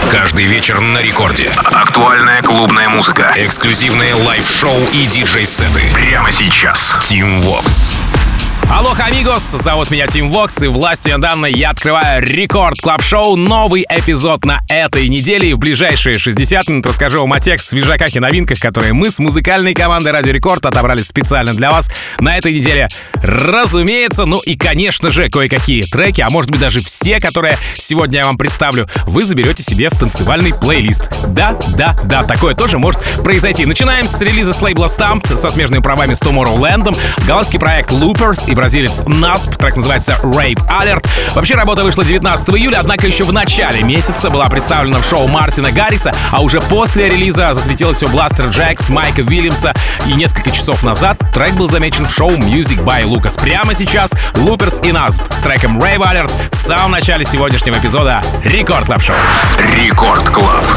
Каждый вечер на рекорде. Актуальная клубная музыка. Эксклюзивные лайв-шоу и диджей-сеты. Прямо сейчас. Team Vox. Алло, амигос, зовут меня Тим Вокс, и властью данной я открываю Рекорд Клаб Шоу, новый эпизод на этой неделе, и в ближайшие 60 минут расскажу вам о тех свежаках и новинках, которые мы с музыкальной командой Радио Рекорд отобрали специально для вас на этой неделе. Разумеется, ну и, конечно же, кое-какие треки, а может быть даже все, которые сегодня я вам представлю, вы заберете себе в танцевальный плейлист. Да, такое тоже может произойти. Начинаем с релиза с лейбла Stamped со смежными правами с Tomorrowland, голландский проект Loopers и бразилец Nasp, трек называется Rave Alert. Вообще работа вышла 19 июля, однако еще в начале месяца была представлена в шоу Мартина Гаррикса, а уже после релиза засветилось у Blaster Jacks, Майка Уильямса, и несколько часов назад трек был замечен в шоу Music by Lucas. Прямо сейчас Loopers и Nasp с треком Rave Alert в самом начале сегодняшнего эпизода Рекорд Клаб Шоу. Рекорд Клаб.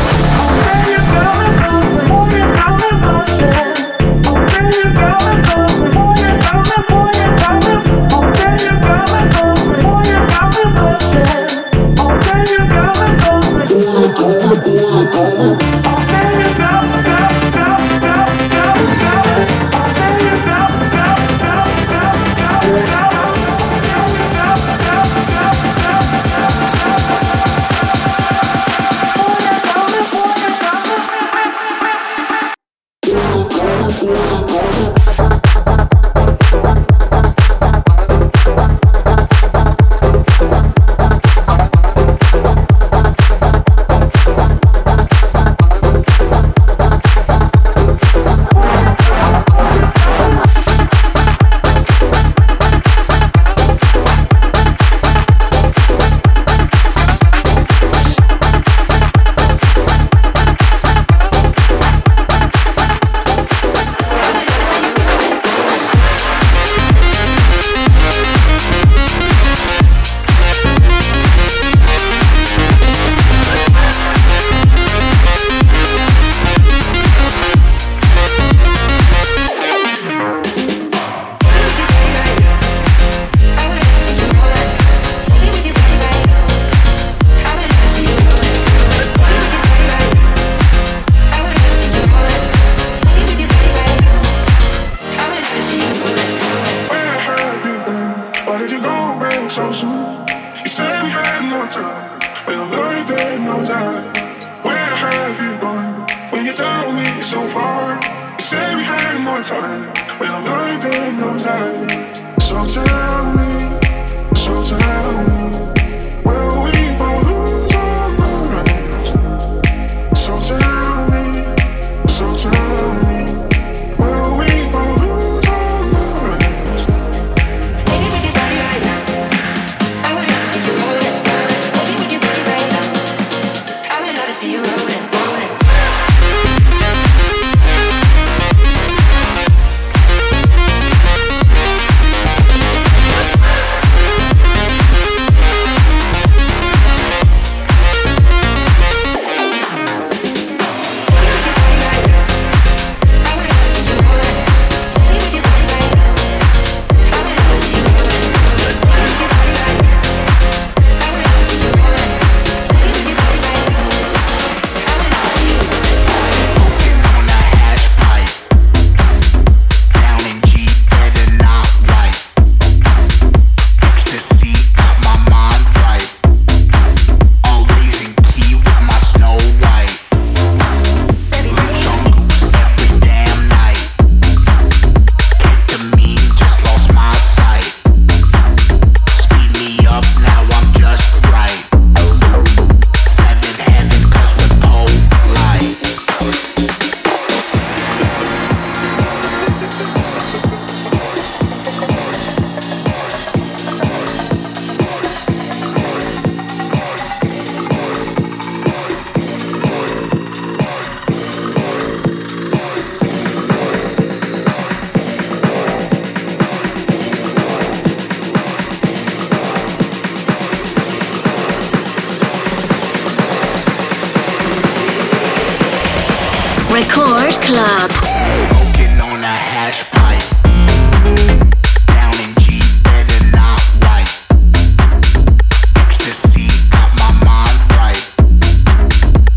Record Club. Smoking on a hash pipe. Down in G, better not white. Ecstasy got my mind right.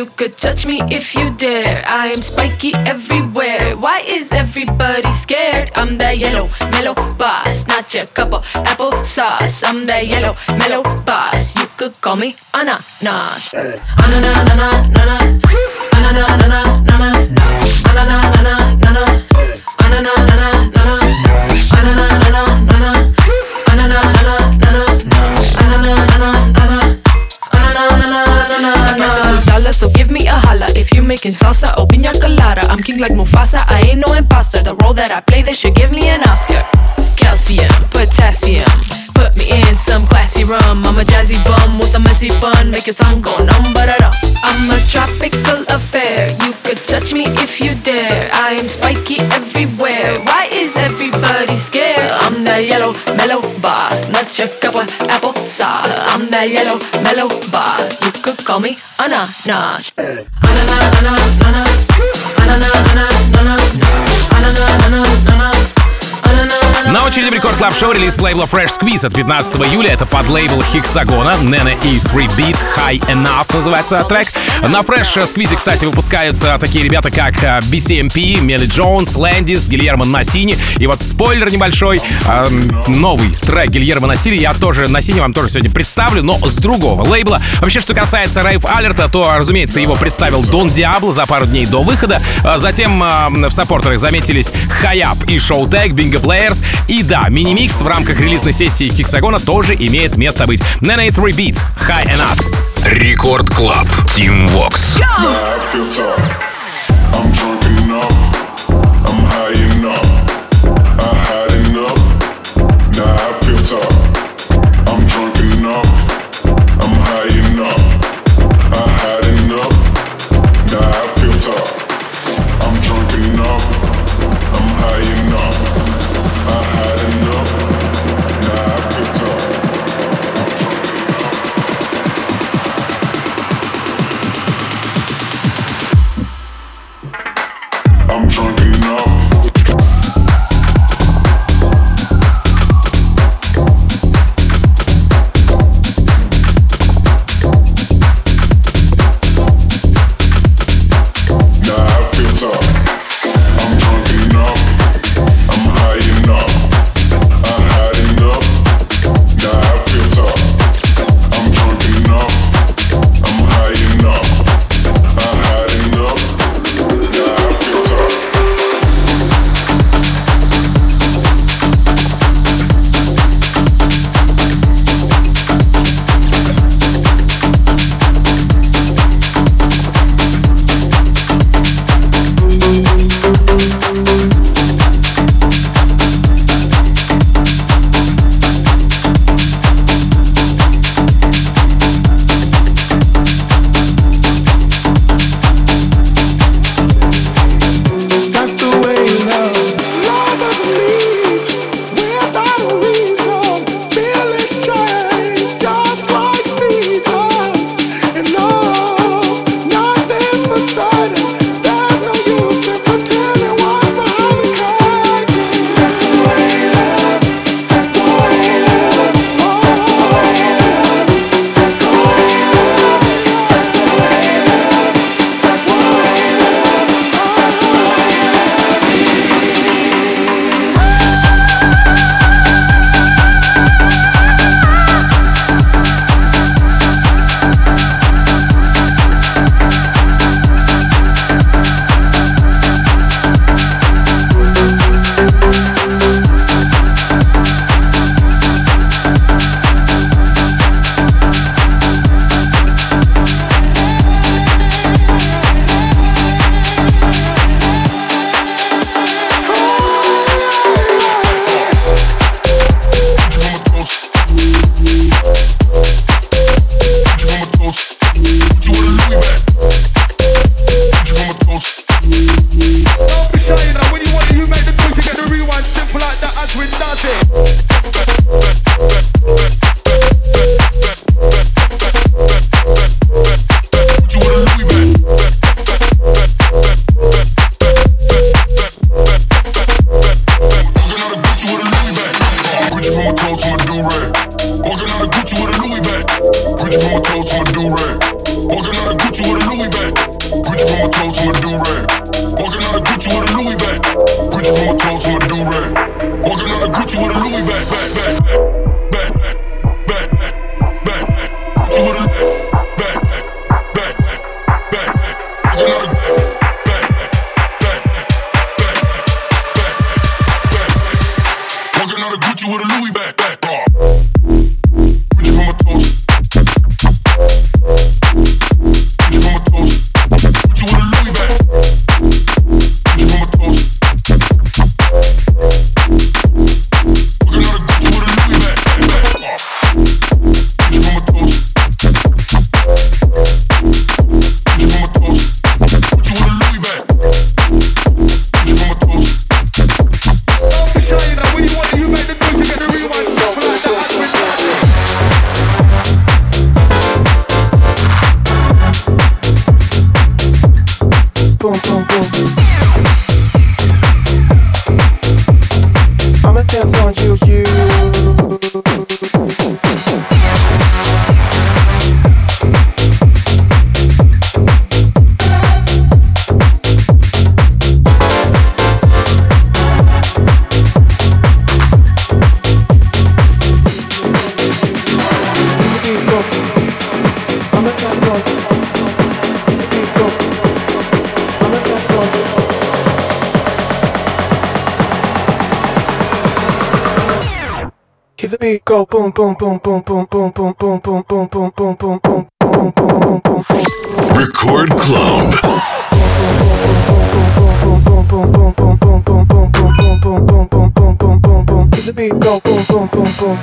You could touch me if you dare. I am spiky everywhere. Why is everybody scared? I'm that yellow, mellow boss, not your cup of applesauce. I'm that yellow, mellow boss. You could call me ananas. Ananas. So give me a holla if you making salsa or piña colada. I'm king like Mufasa, I ain't no imposter. The role that I play, they should give me an Oscar. Calcium, potassium, put me in some classy rum. I'm a jazzy bum with a messy bun, make your tongue go numb, ba-da-dum. I'm a tropical affair, you could touch me if you dare. I am spiky everywhere, why is everybody scared? I'm that yellow, mellow boss, not your cup of applesauce. I'm that yellow, mellow boss, you could call me ananas. На очереди в Рекорд Клаб Шоу релиз лейбла Fresh Squeeze от 15 июля. Это под лейбл Hexagona, Nene и 3Beat, High Enough называется трек. На Fresh Squeeze, кстати, выпускаются такие ребята, как BCMP, Мелли Джонс, Лэндис, Гильермо Насини. И вот спойлер небольшой, новый трек Гильермо Насини я тоже вам тоже сегодня представлю, но с другого лейбла. Вообще, что касается Рейв Алерта, то, разумеется, его представил Дон Диабло за пару дней до выхода. Затем в саппортерах заметились Хайап и Showtek, Bingo Players. И да, мини-микс в рамках релизной сессии Hexagona тоже имеет место быть. Nene 3Beat, High Enough. Рекорд Клаб, Team Vox. Walking on a Gucci with a Louis back. Gucci with a back. Walking on a back. Walking on a Gucci with a Louis back. Gucci from my toes. Gucci from my toes. Gucci with a Louis back. Gucci from my toes. Walking on a Gucci with a Louis back. Gucci from my toes. Gucci from my toes. Gucci with a Louis back. Gucci from my toes. I'll show you that when you want it, you make the Gucci get the rewind stuff like that. Boom, boom, boom. I'ma dance on you. Hear the beat go boom boom boom boom boom boom boom boom boom boom boom boom boom boom boom boom boom. Record Club. Hear the beat go boom boom boom boom.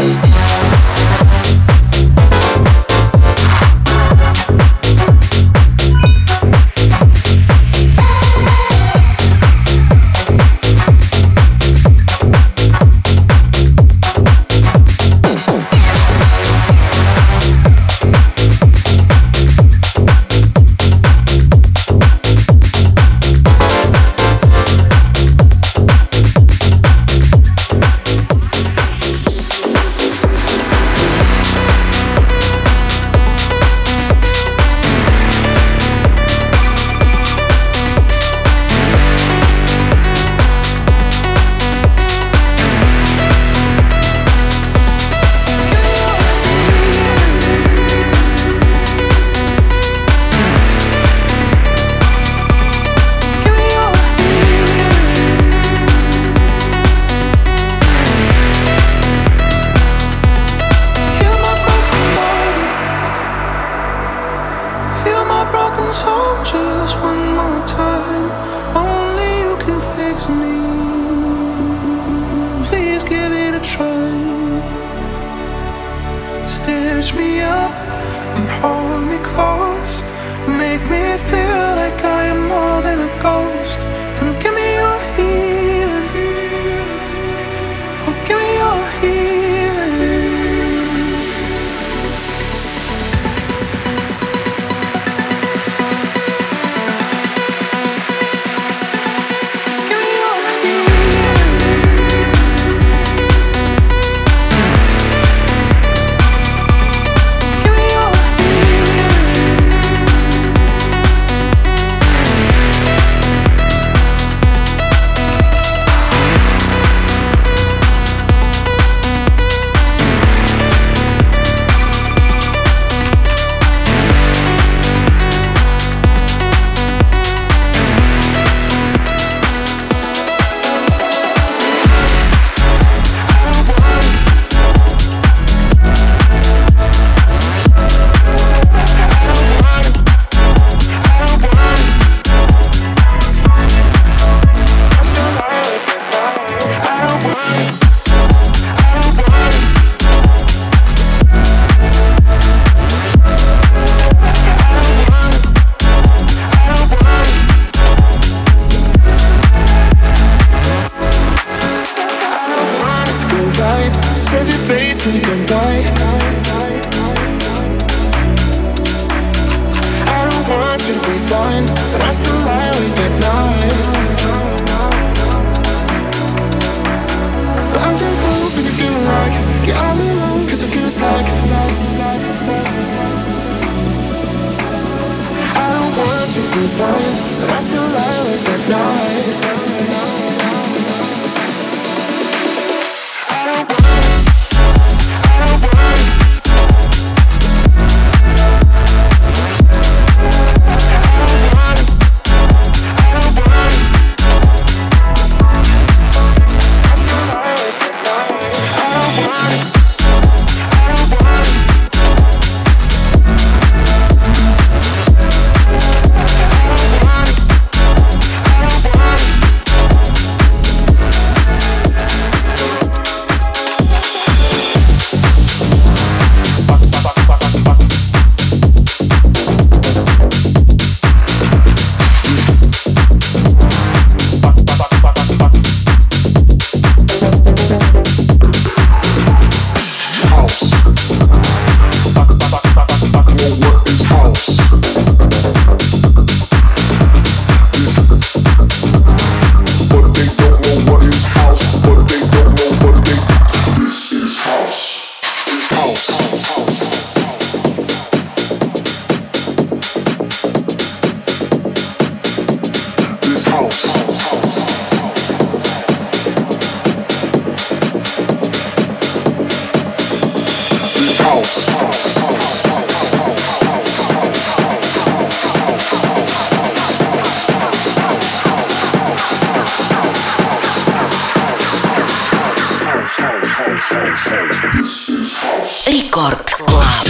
Рекорд Клаб.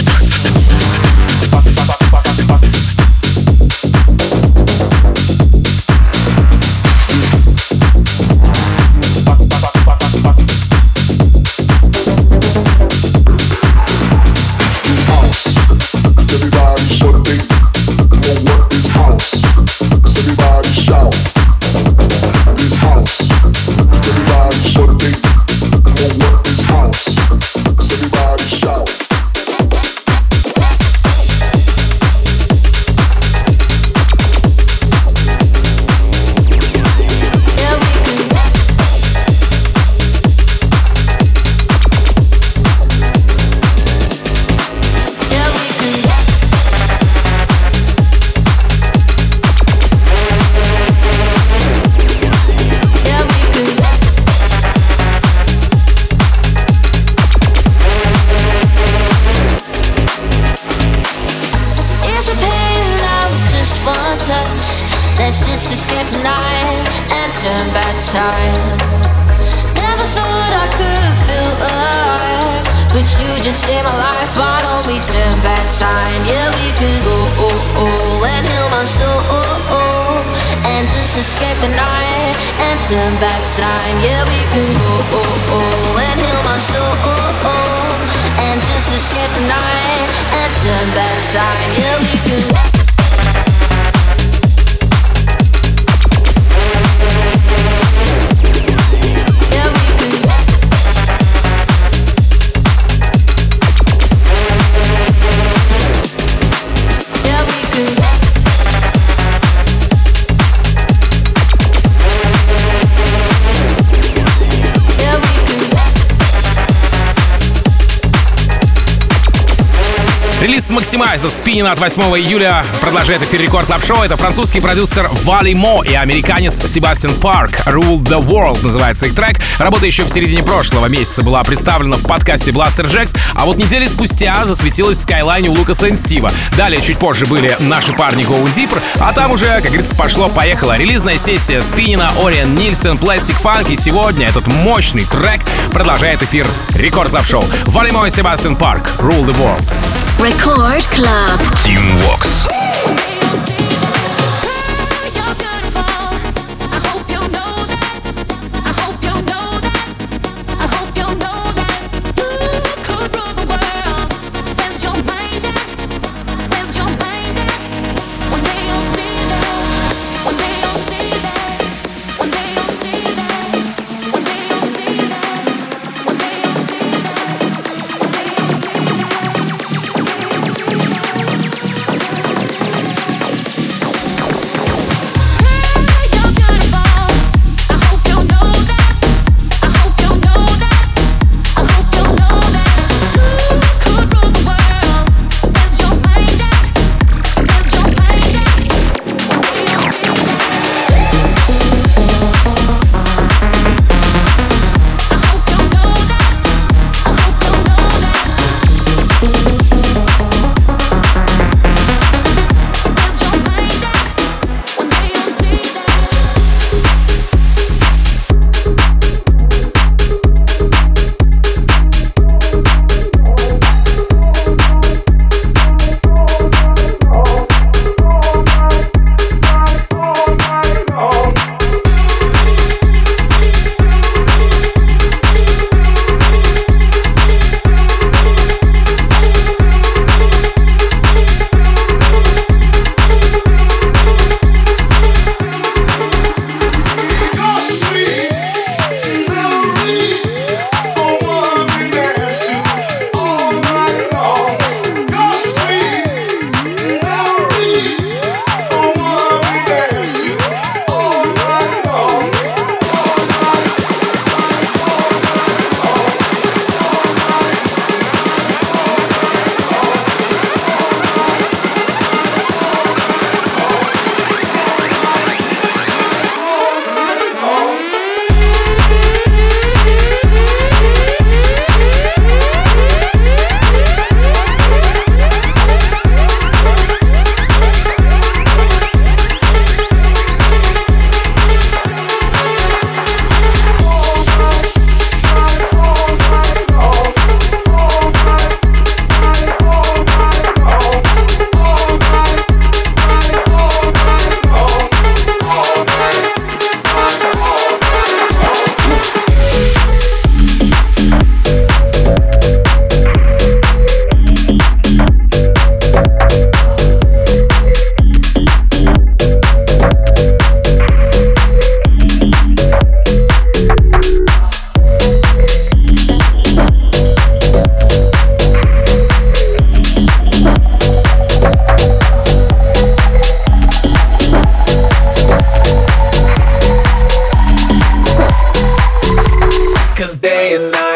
Релиз Maximize Спинина от 8 июля продолжает эфир Рекорд Клаб Шоу. Это французский продюсер Вали Мо и американец Себастьян Парк. Rule the World называется их трек. Работа еще в середине прошлого месяца была представлена в подкасте Blaster Jacks, а вот недели спустя засветилась в Skyline у Лукаса и Стива. Далее чуть позже были наши парни Going Deeper, а там уже, как говорится, пошло-поехало. Релизная сессия Спинина, Ориен Нильсон, Plastic Funk, и сегодня этот мощный трек продолжает эфир Рекорд Клаб Шоу. Вали Мо и Себастьян Парк. Rule the World. Record Club. Team Vox.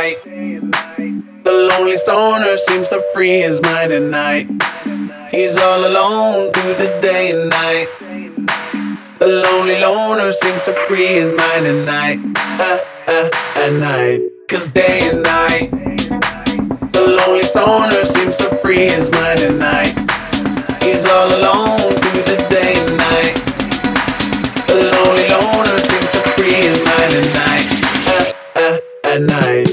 night. The lonely stoner seems to free his mind at night. He's all alone through the day and night. The lonely loner seems to free his mind at night. At night. 'Cause day and night, the lonely stoner seems to free his mind at night. He's all alone through the day and night. The lonely loner seems to free his mind at night. At night.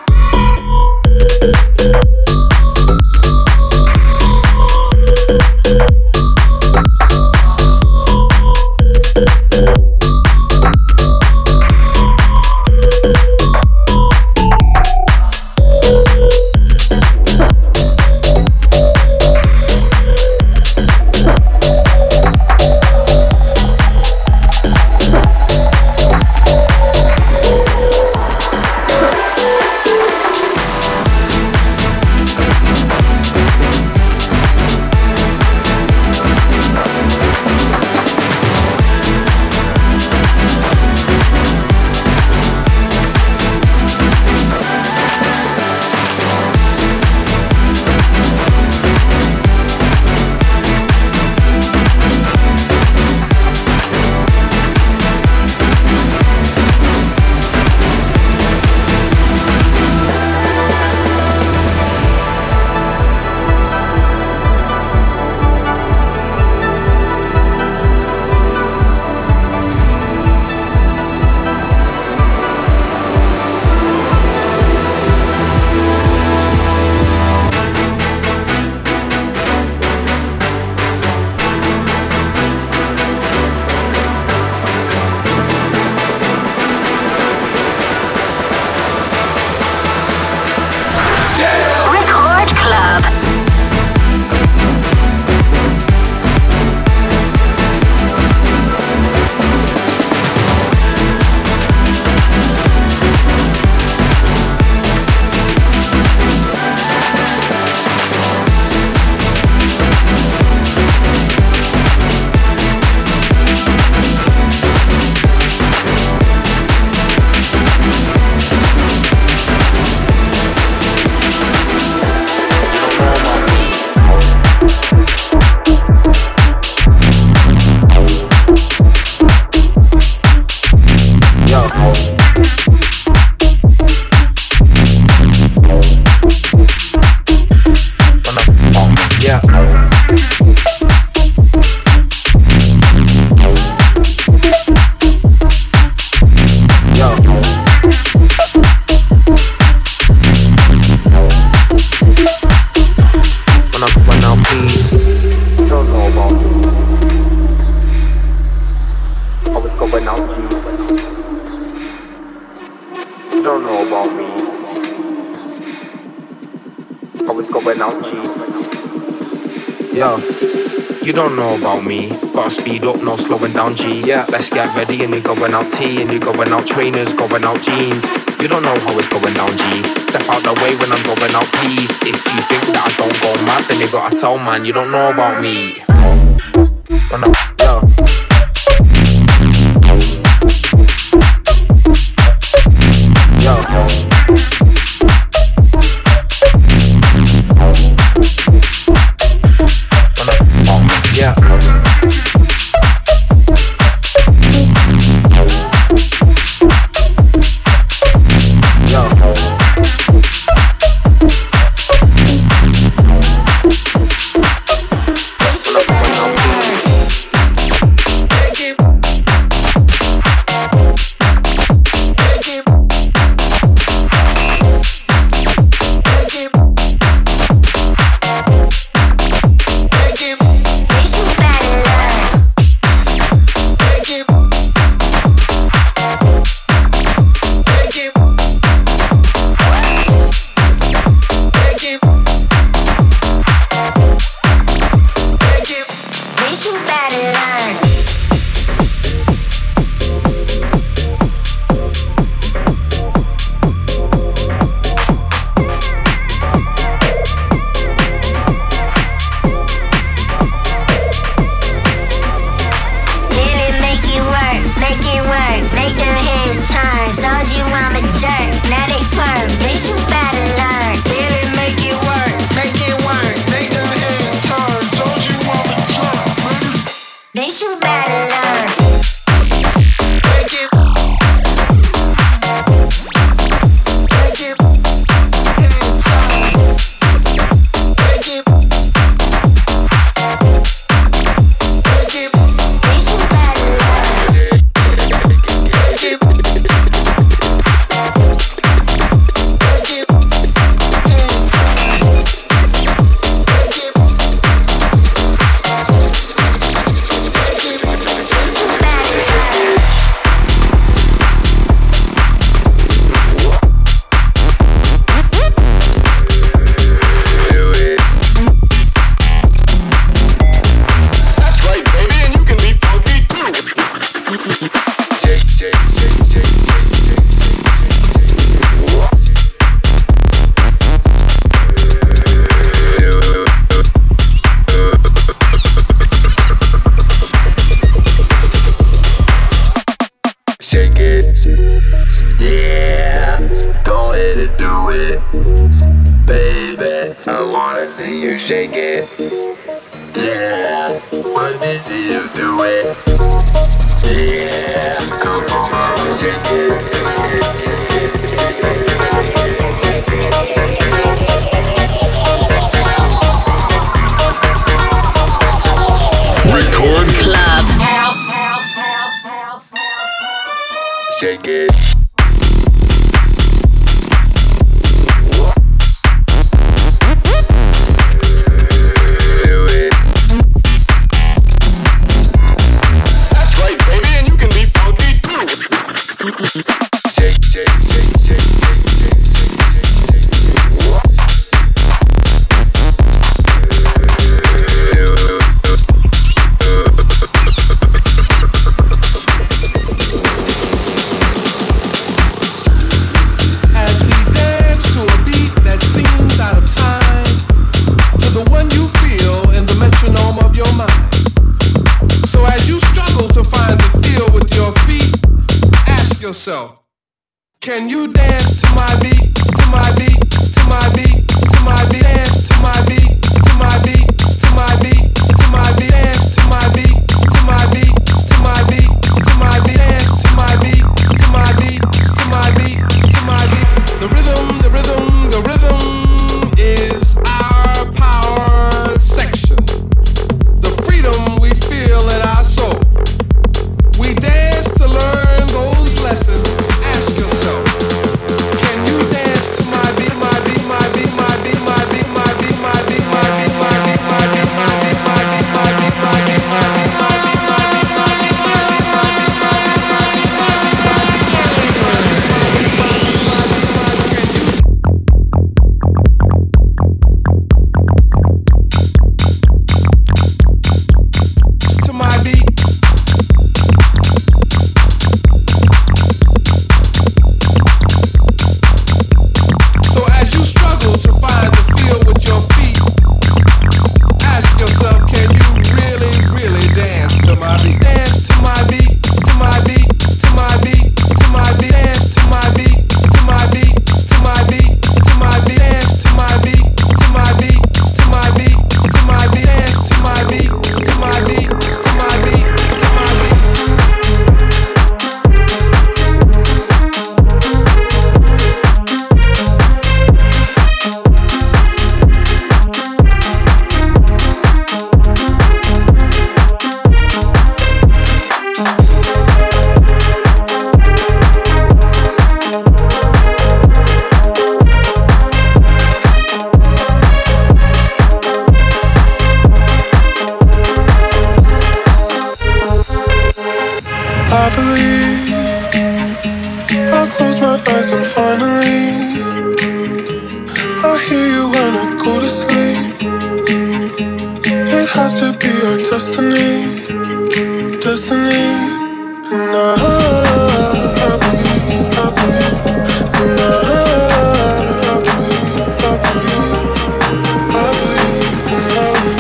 You don't know about me. Gotta speed up, no slowing down, G. Yeah, let's get ready and you're going out T, and you're going out trainers, going out jeans. You don't know how it's going down, G. Step out the way when I'm going out, please. If you think that I don't go mad, then you gotta tell, man, you don't know about me. Run up, yo. shake it. Yeah, let me see you do it. Yeah, come on, mama, shake it. Record Club. Shake it. Can you dance to my beat, to my beat, to my beat, to my beat, dance to my beat, to my beat, to my beat, to my beat, dance to my beat, to my beat, to my beat, to my beat, dance to my beat, to my beat, to my beat, to my beat. The rhythm, the rhythm, the rhythm is our power section. The freedom we feel in our soul. We dance to learn those lessons. Ask yourself, can you dance to my beat, my beat, my beat, my beat, my beat, my beat, my beat, my beat, my beat, my beat, my beat, my beat, my beat, my beat, my beat, my beat. To my beat. So as you struggle to find the feel with your feet, ask yourself, can you really, really dance to my beat? Dance to my beat, to my beat, to my beat, to my beat, dance to my beat, to my beat, to my beat, to my beat, dance to my beat, to my beat, to my beat, to my beat, dance to my beat, to my beat, to my beat, to my beat. I believe I close my eyes and finally I hear you when I go to sleep. It has to be our destiny, destiny. And I believe, I believe, and I believe, I believe, I believe in love.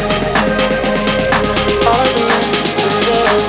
I believe in love.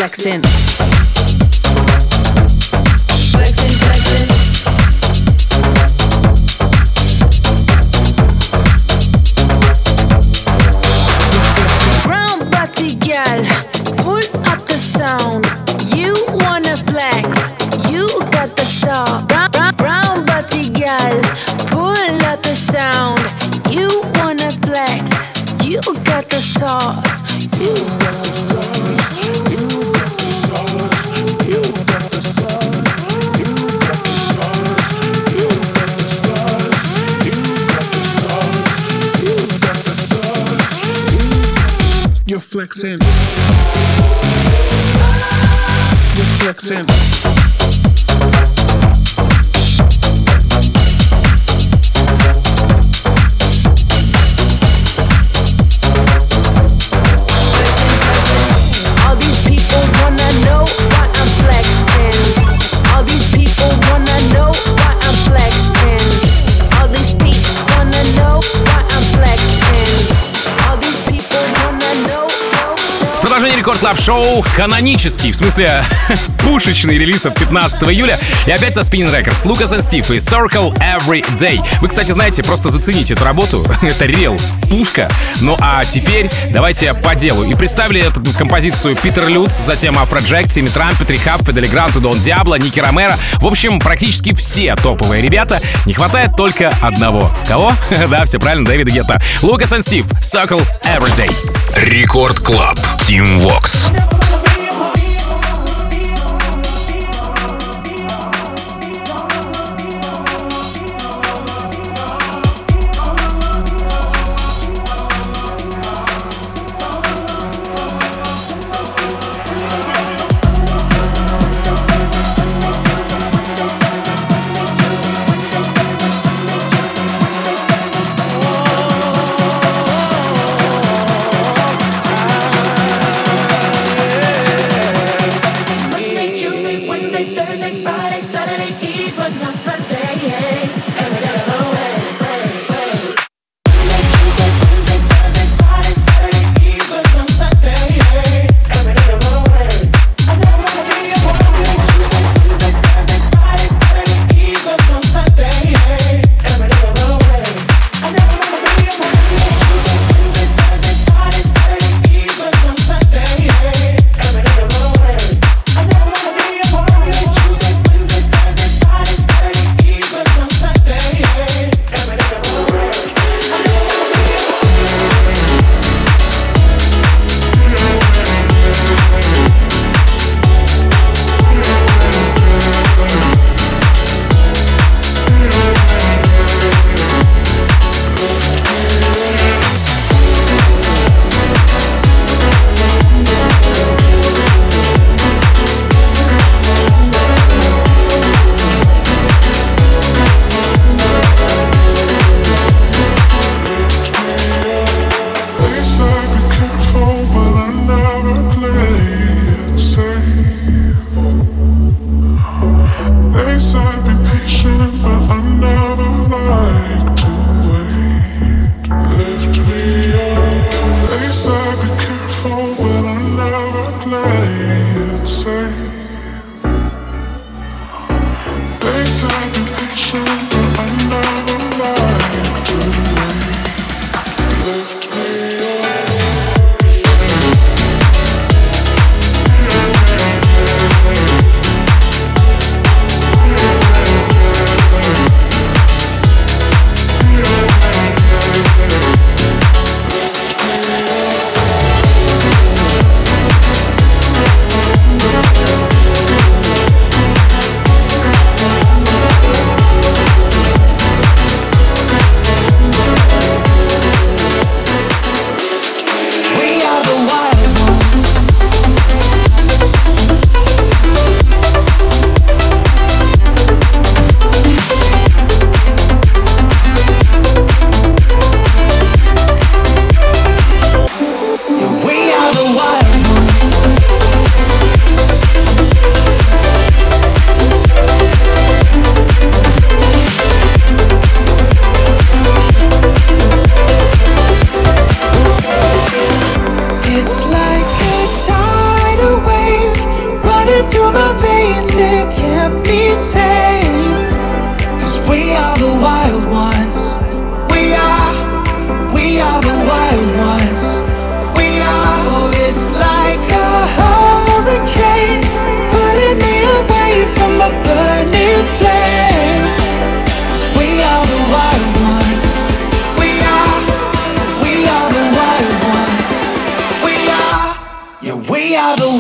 flexing. Flexing, flexing. Brown body gal, pull up the sound. You wanna flex, you got the shot. Brown body gal, pull up the sound. You wanna flex, you got the sauce. You got the sauce. You got the sauce. You got the sauce. You got the sauce. You got the sauce. You got the sauce. You got the sauce. You're flexing. You're flexing. All these people wanna know why I'm flexing. All these people wanna know why I'm flexing. All these people wanna know why I'm flexing. All these people wanna know. Продолжение Рекорд Клаб Шоу канонический, в смысле пушечный релиз от 15 июля. И опять со Spinnin' Records, Lucas and Steve и Circle Every Day. Вы, кстати, знаете, просто зацените эту работу. Это рел, пушка. Ну а теперь давайте по делу. И представили эту композицию Питер Лютц, затем Афроджек, Тимми Трампет, Рихаб, Фидели Грант, Дон Диабло, Ники Ромеро. В общем, практически все топовые ребята. Не хватает только одного. Кого? Да, все правильно, Дэвида Гетта. Lucas and Steve, Circle Every Day. Рекорд Клаб. Team Vox. Yeah.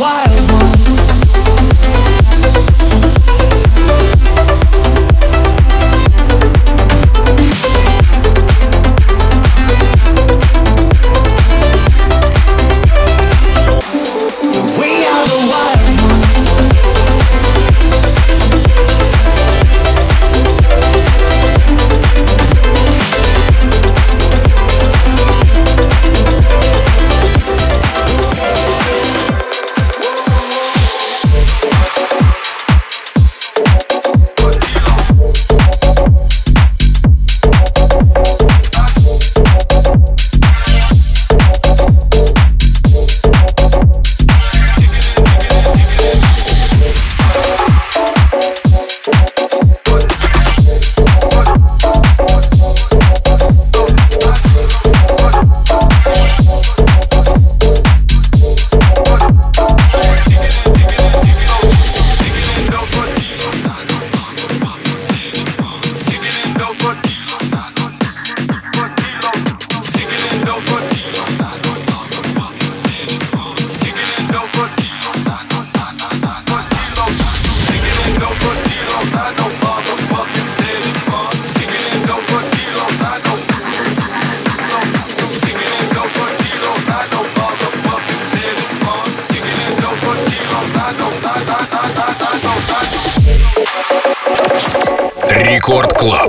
wild ones. We are the wild ones. Рекорд Клаб.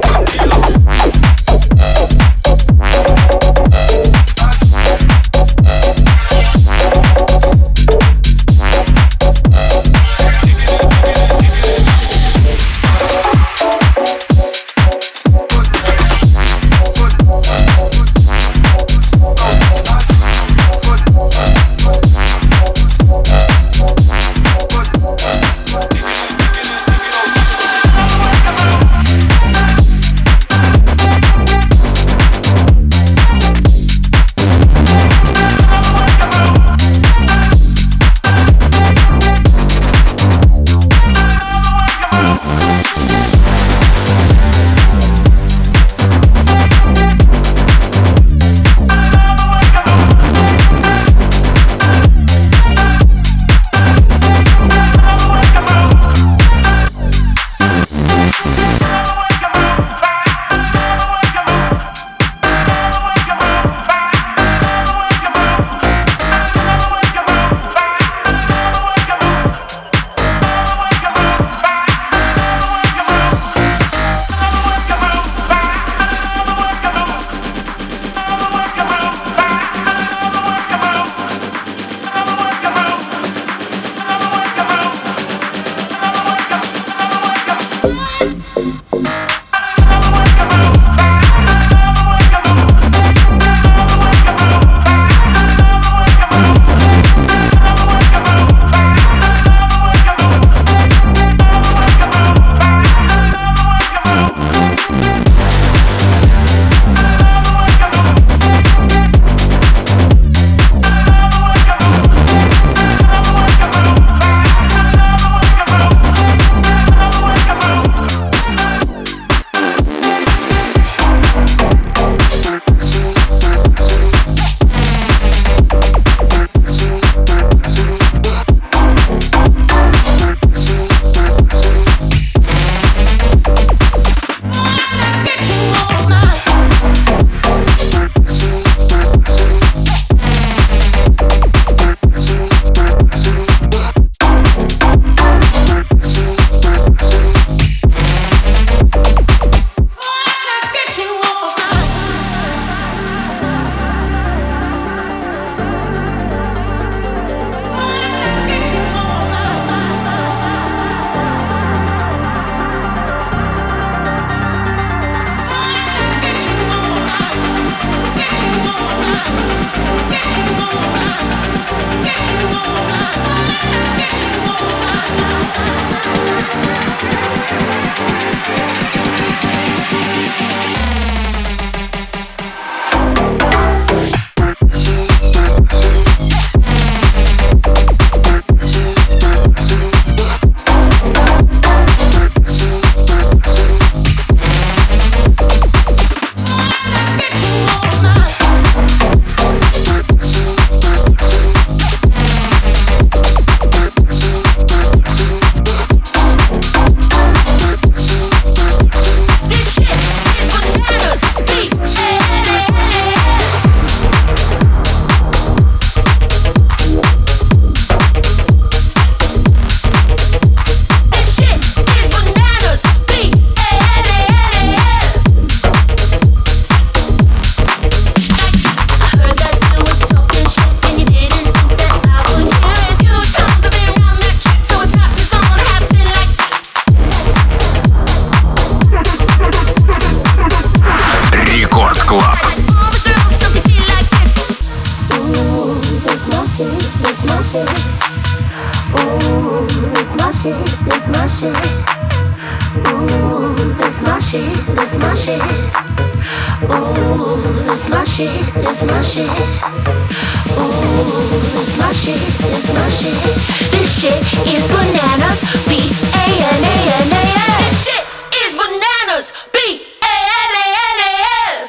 This shit is bananas. B-A-N-A-N-A-S. This shit is bananas. B-A-N-A-N-A-S.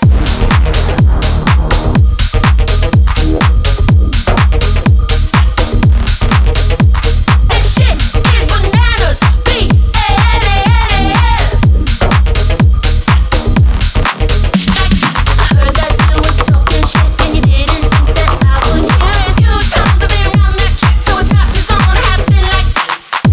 This shit is bananas. B-A-N-A-N-A-S. I heard that you were talking shit and you didn't think that I would hear it. Few times I've been around that trick, so it's not just gonna happen like that.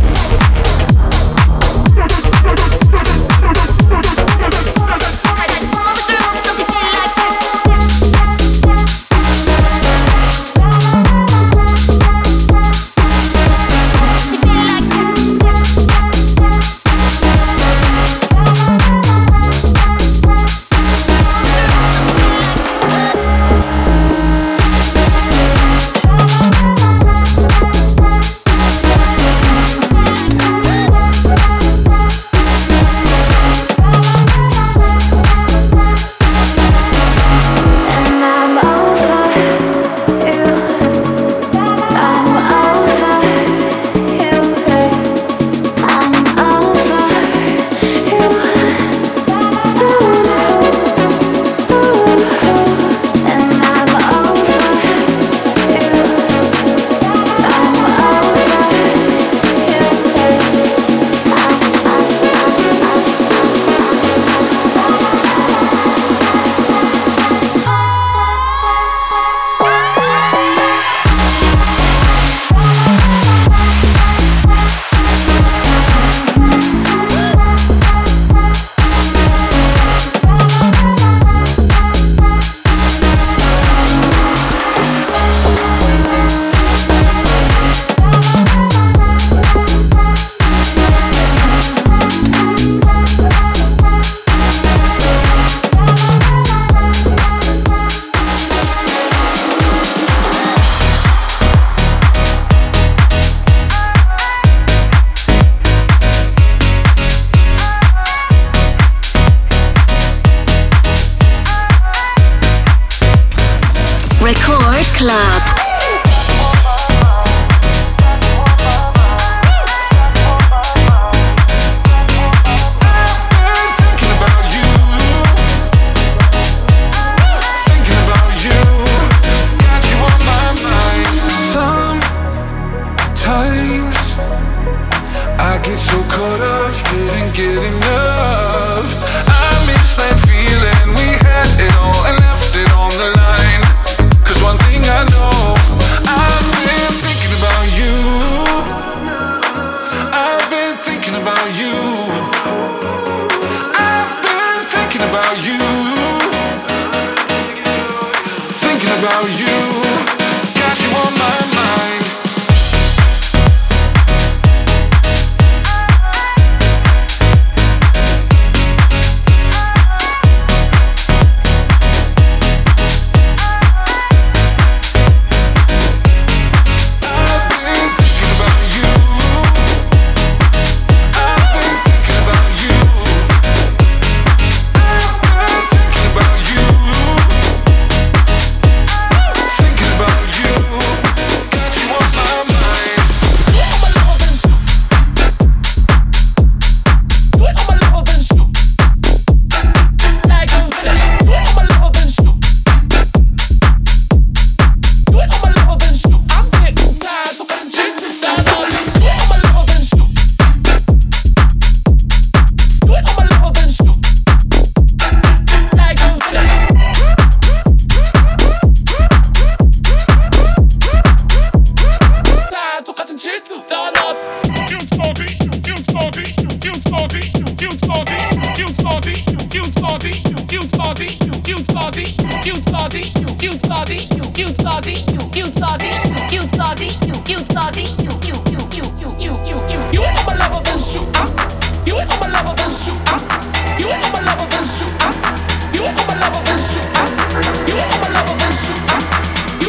Record Club.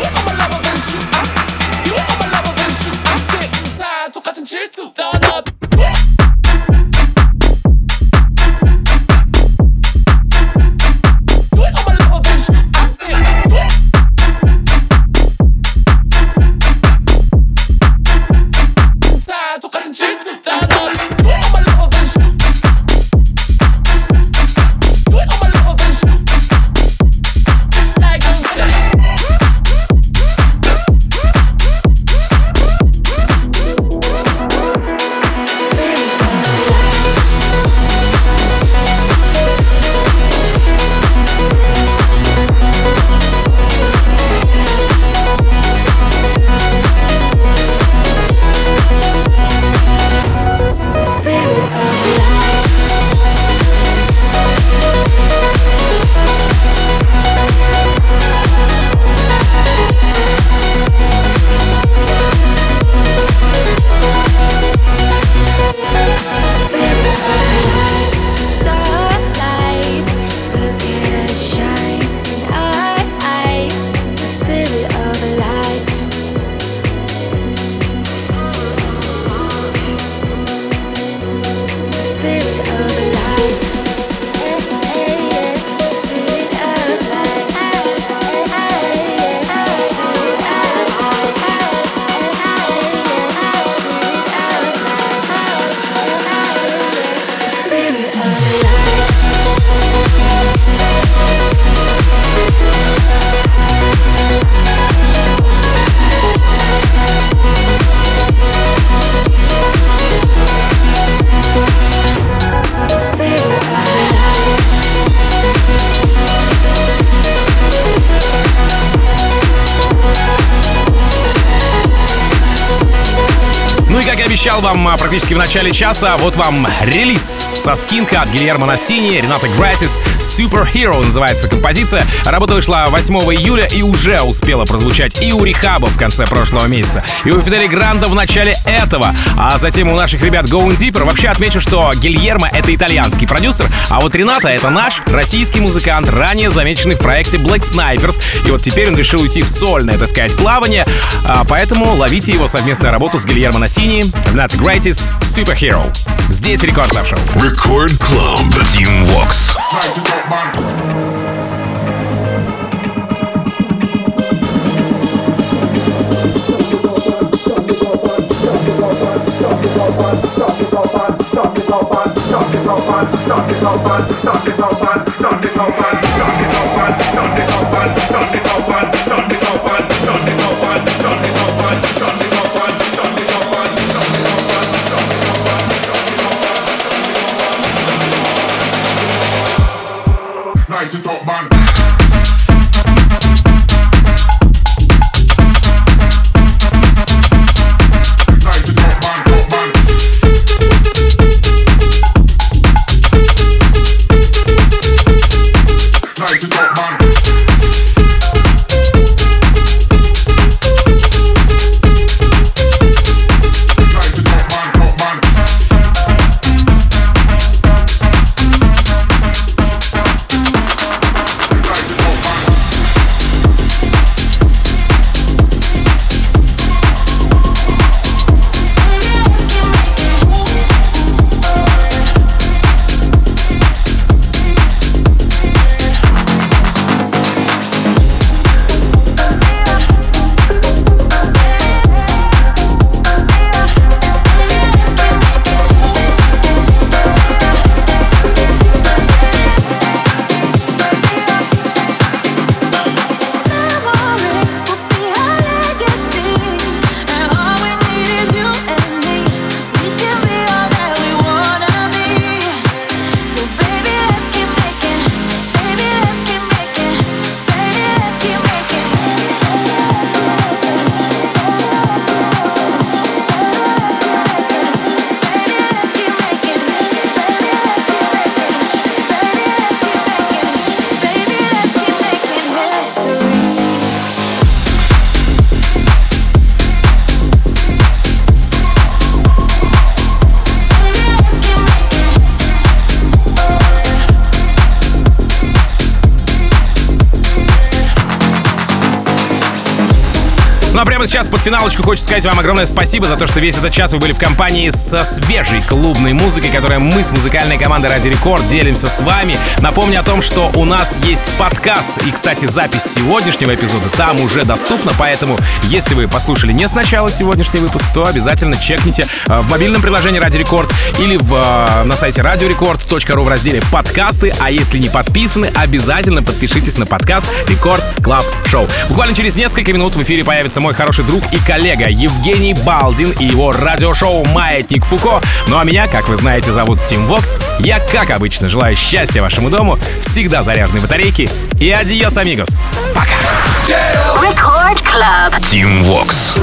Turn up. обещал вам практически в начале часа, вот вам релиз со скинка от Гильермо Нассини, Ренато Гратис, Superhero называется композиция. Работа вышла 8 июля и уже успела прозвучать и у Рехаба в конце прошлого месяца, и у Фидели Гранда в начале этого, а затем у наших ребят Going Deeper. Вообще отмечу, что Гильермо — это итальянский продюсер, а вот Ренато — это наш российский музыкант, ранее замеченный в проекте Black Snipers, и вот теперь он решил уйти в сольное, так сказать, плавание, поэтому ловите его совместную работу с Гильермо Нассини, Renoto Gratis, Superhero. Здесь Рекорд Клаб Шоу. Рекорд Клаб, Team Vox. Nice and top man. Сейчас под финалочку хочется сказать вам огромное спасибо за то, что весь этот час вы были в компании со свежей клубной музыкой, которой мы с музыкальной командой Радио Рекорд делимся с вами. Напомню о том, что у нас есть подкаст, и, кстати, запись сегодняшнего эпизода там уже доступна, поэтому, если вы послушали не сначала сегодняшний выпуск, то обязательно чекните в мобильном приложении Радио Рекорд или на сайте radiorecord.ru в разделе «Подкасты», а если не подписаны, обязательно подпишитесь на подкаст Рекорд Клаб Шоу. Буквально через несколько минут в эфире появится мой хороший друг и коллега Евгений Балдин и его радиошоу «Маятник Фуко». Ну а меня, как вы знаете, зовут Team Vox. Я, как обычно, желаю счастья вашему дому, всегда заряженной батарейки и адьос, амигос. Пока! Record Club. Team Vox.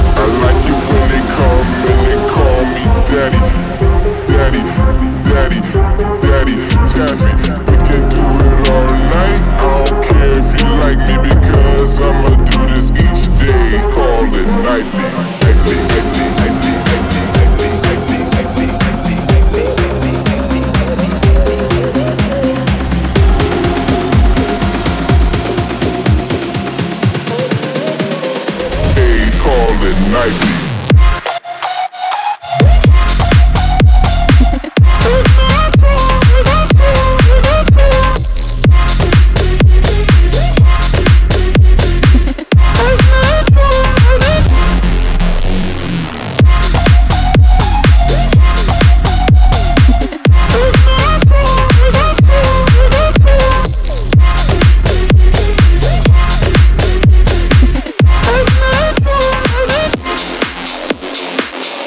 I'ma do this each day, call it nightly. Hey, call it nightly.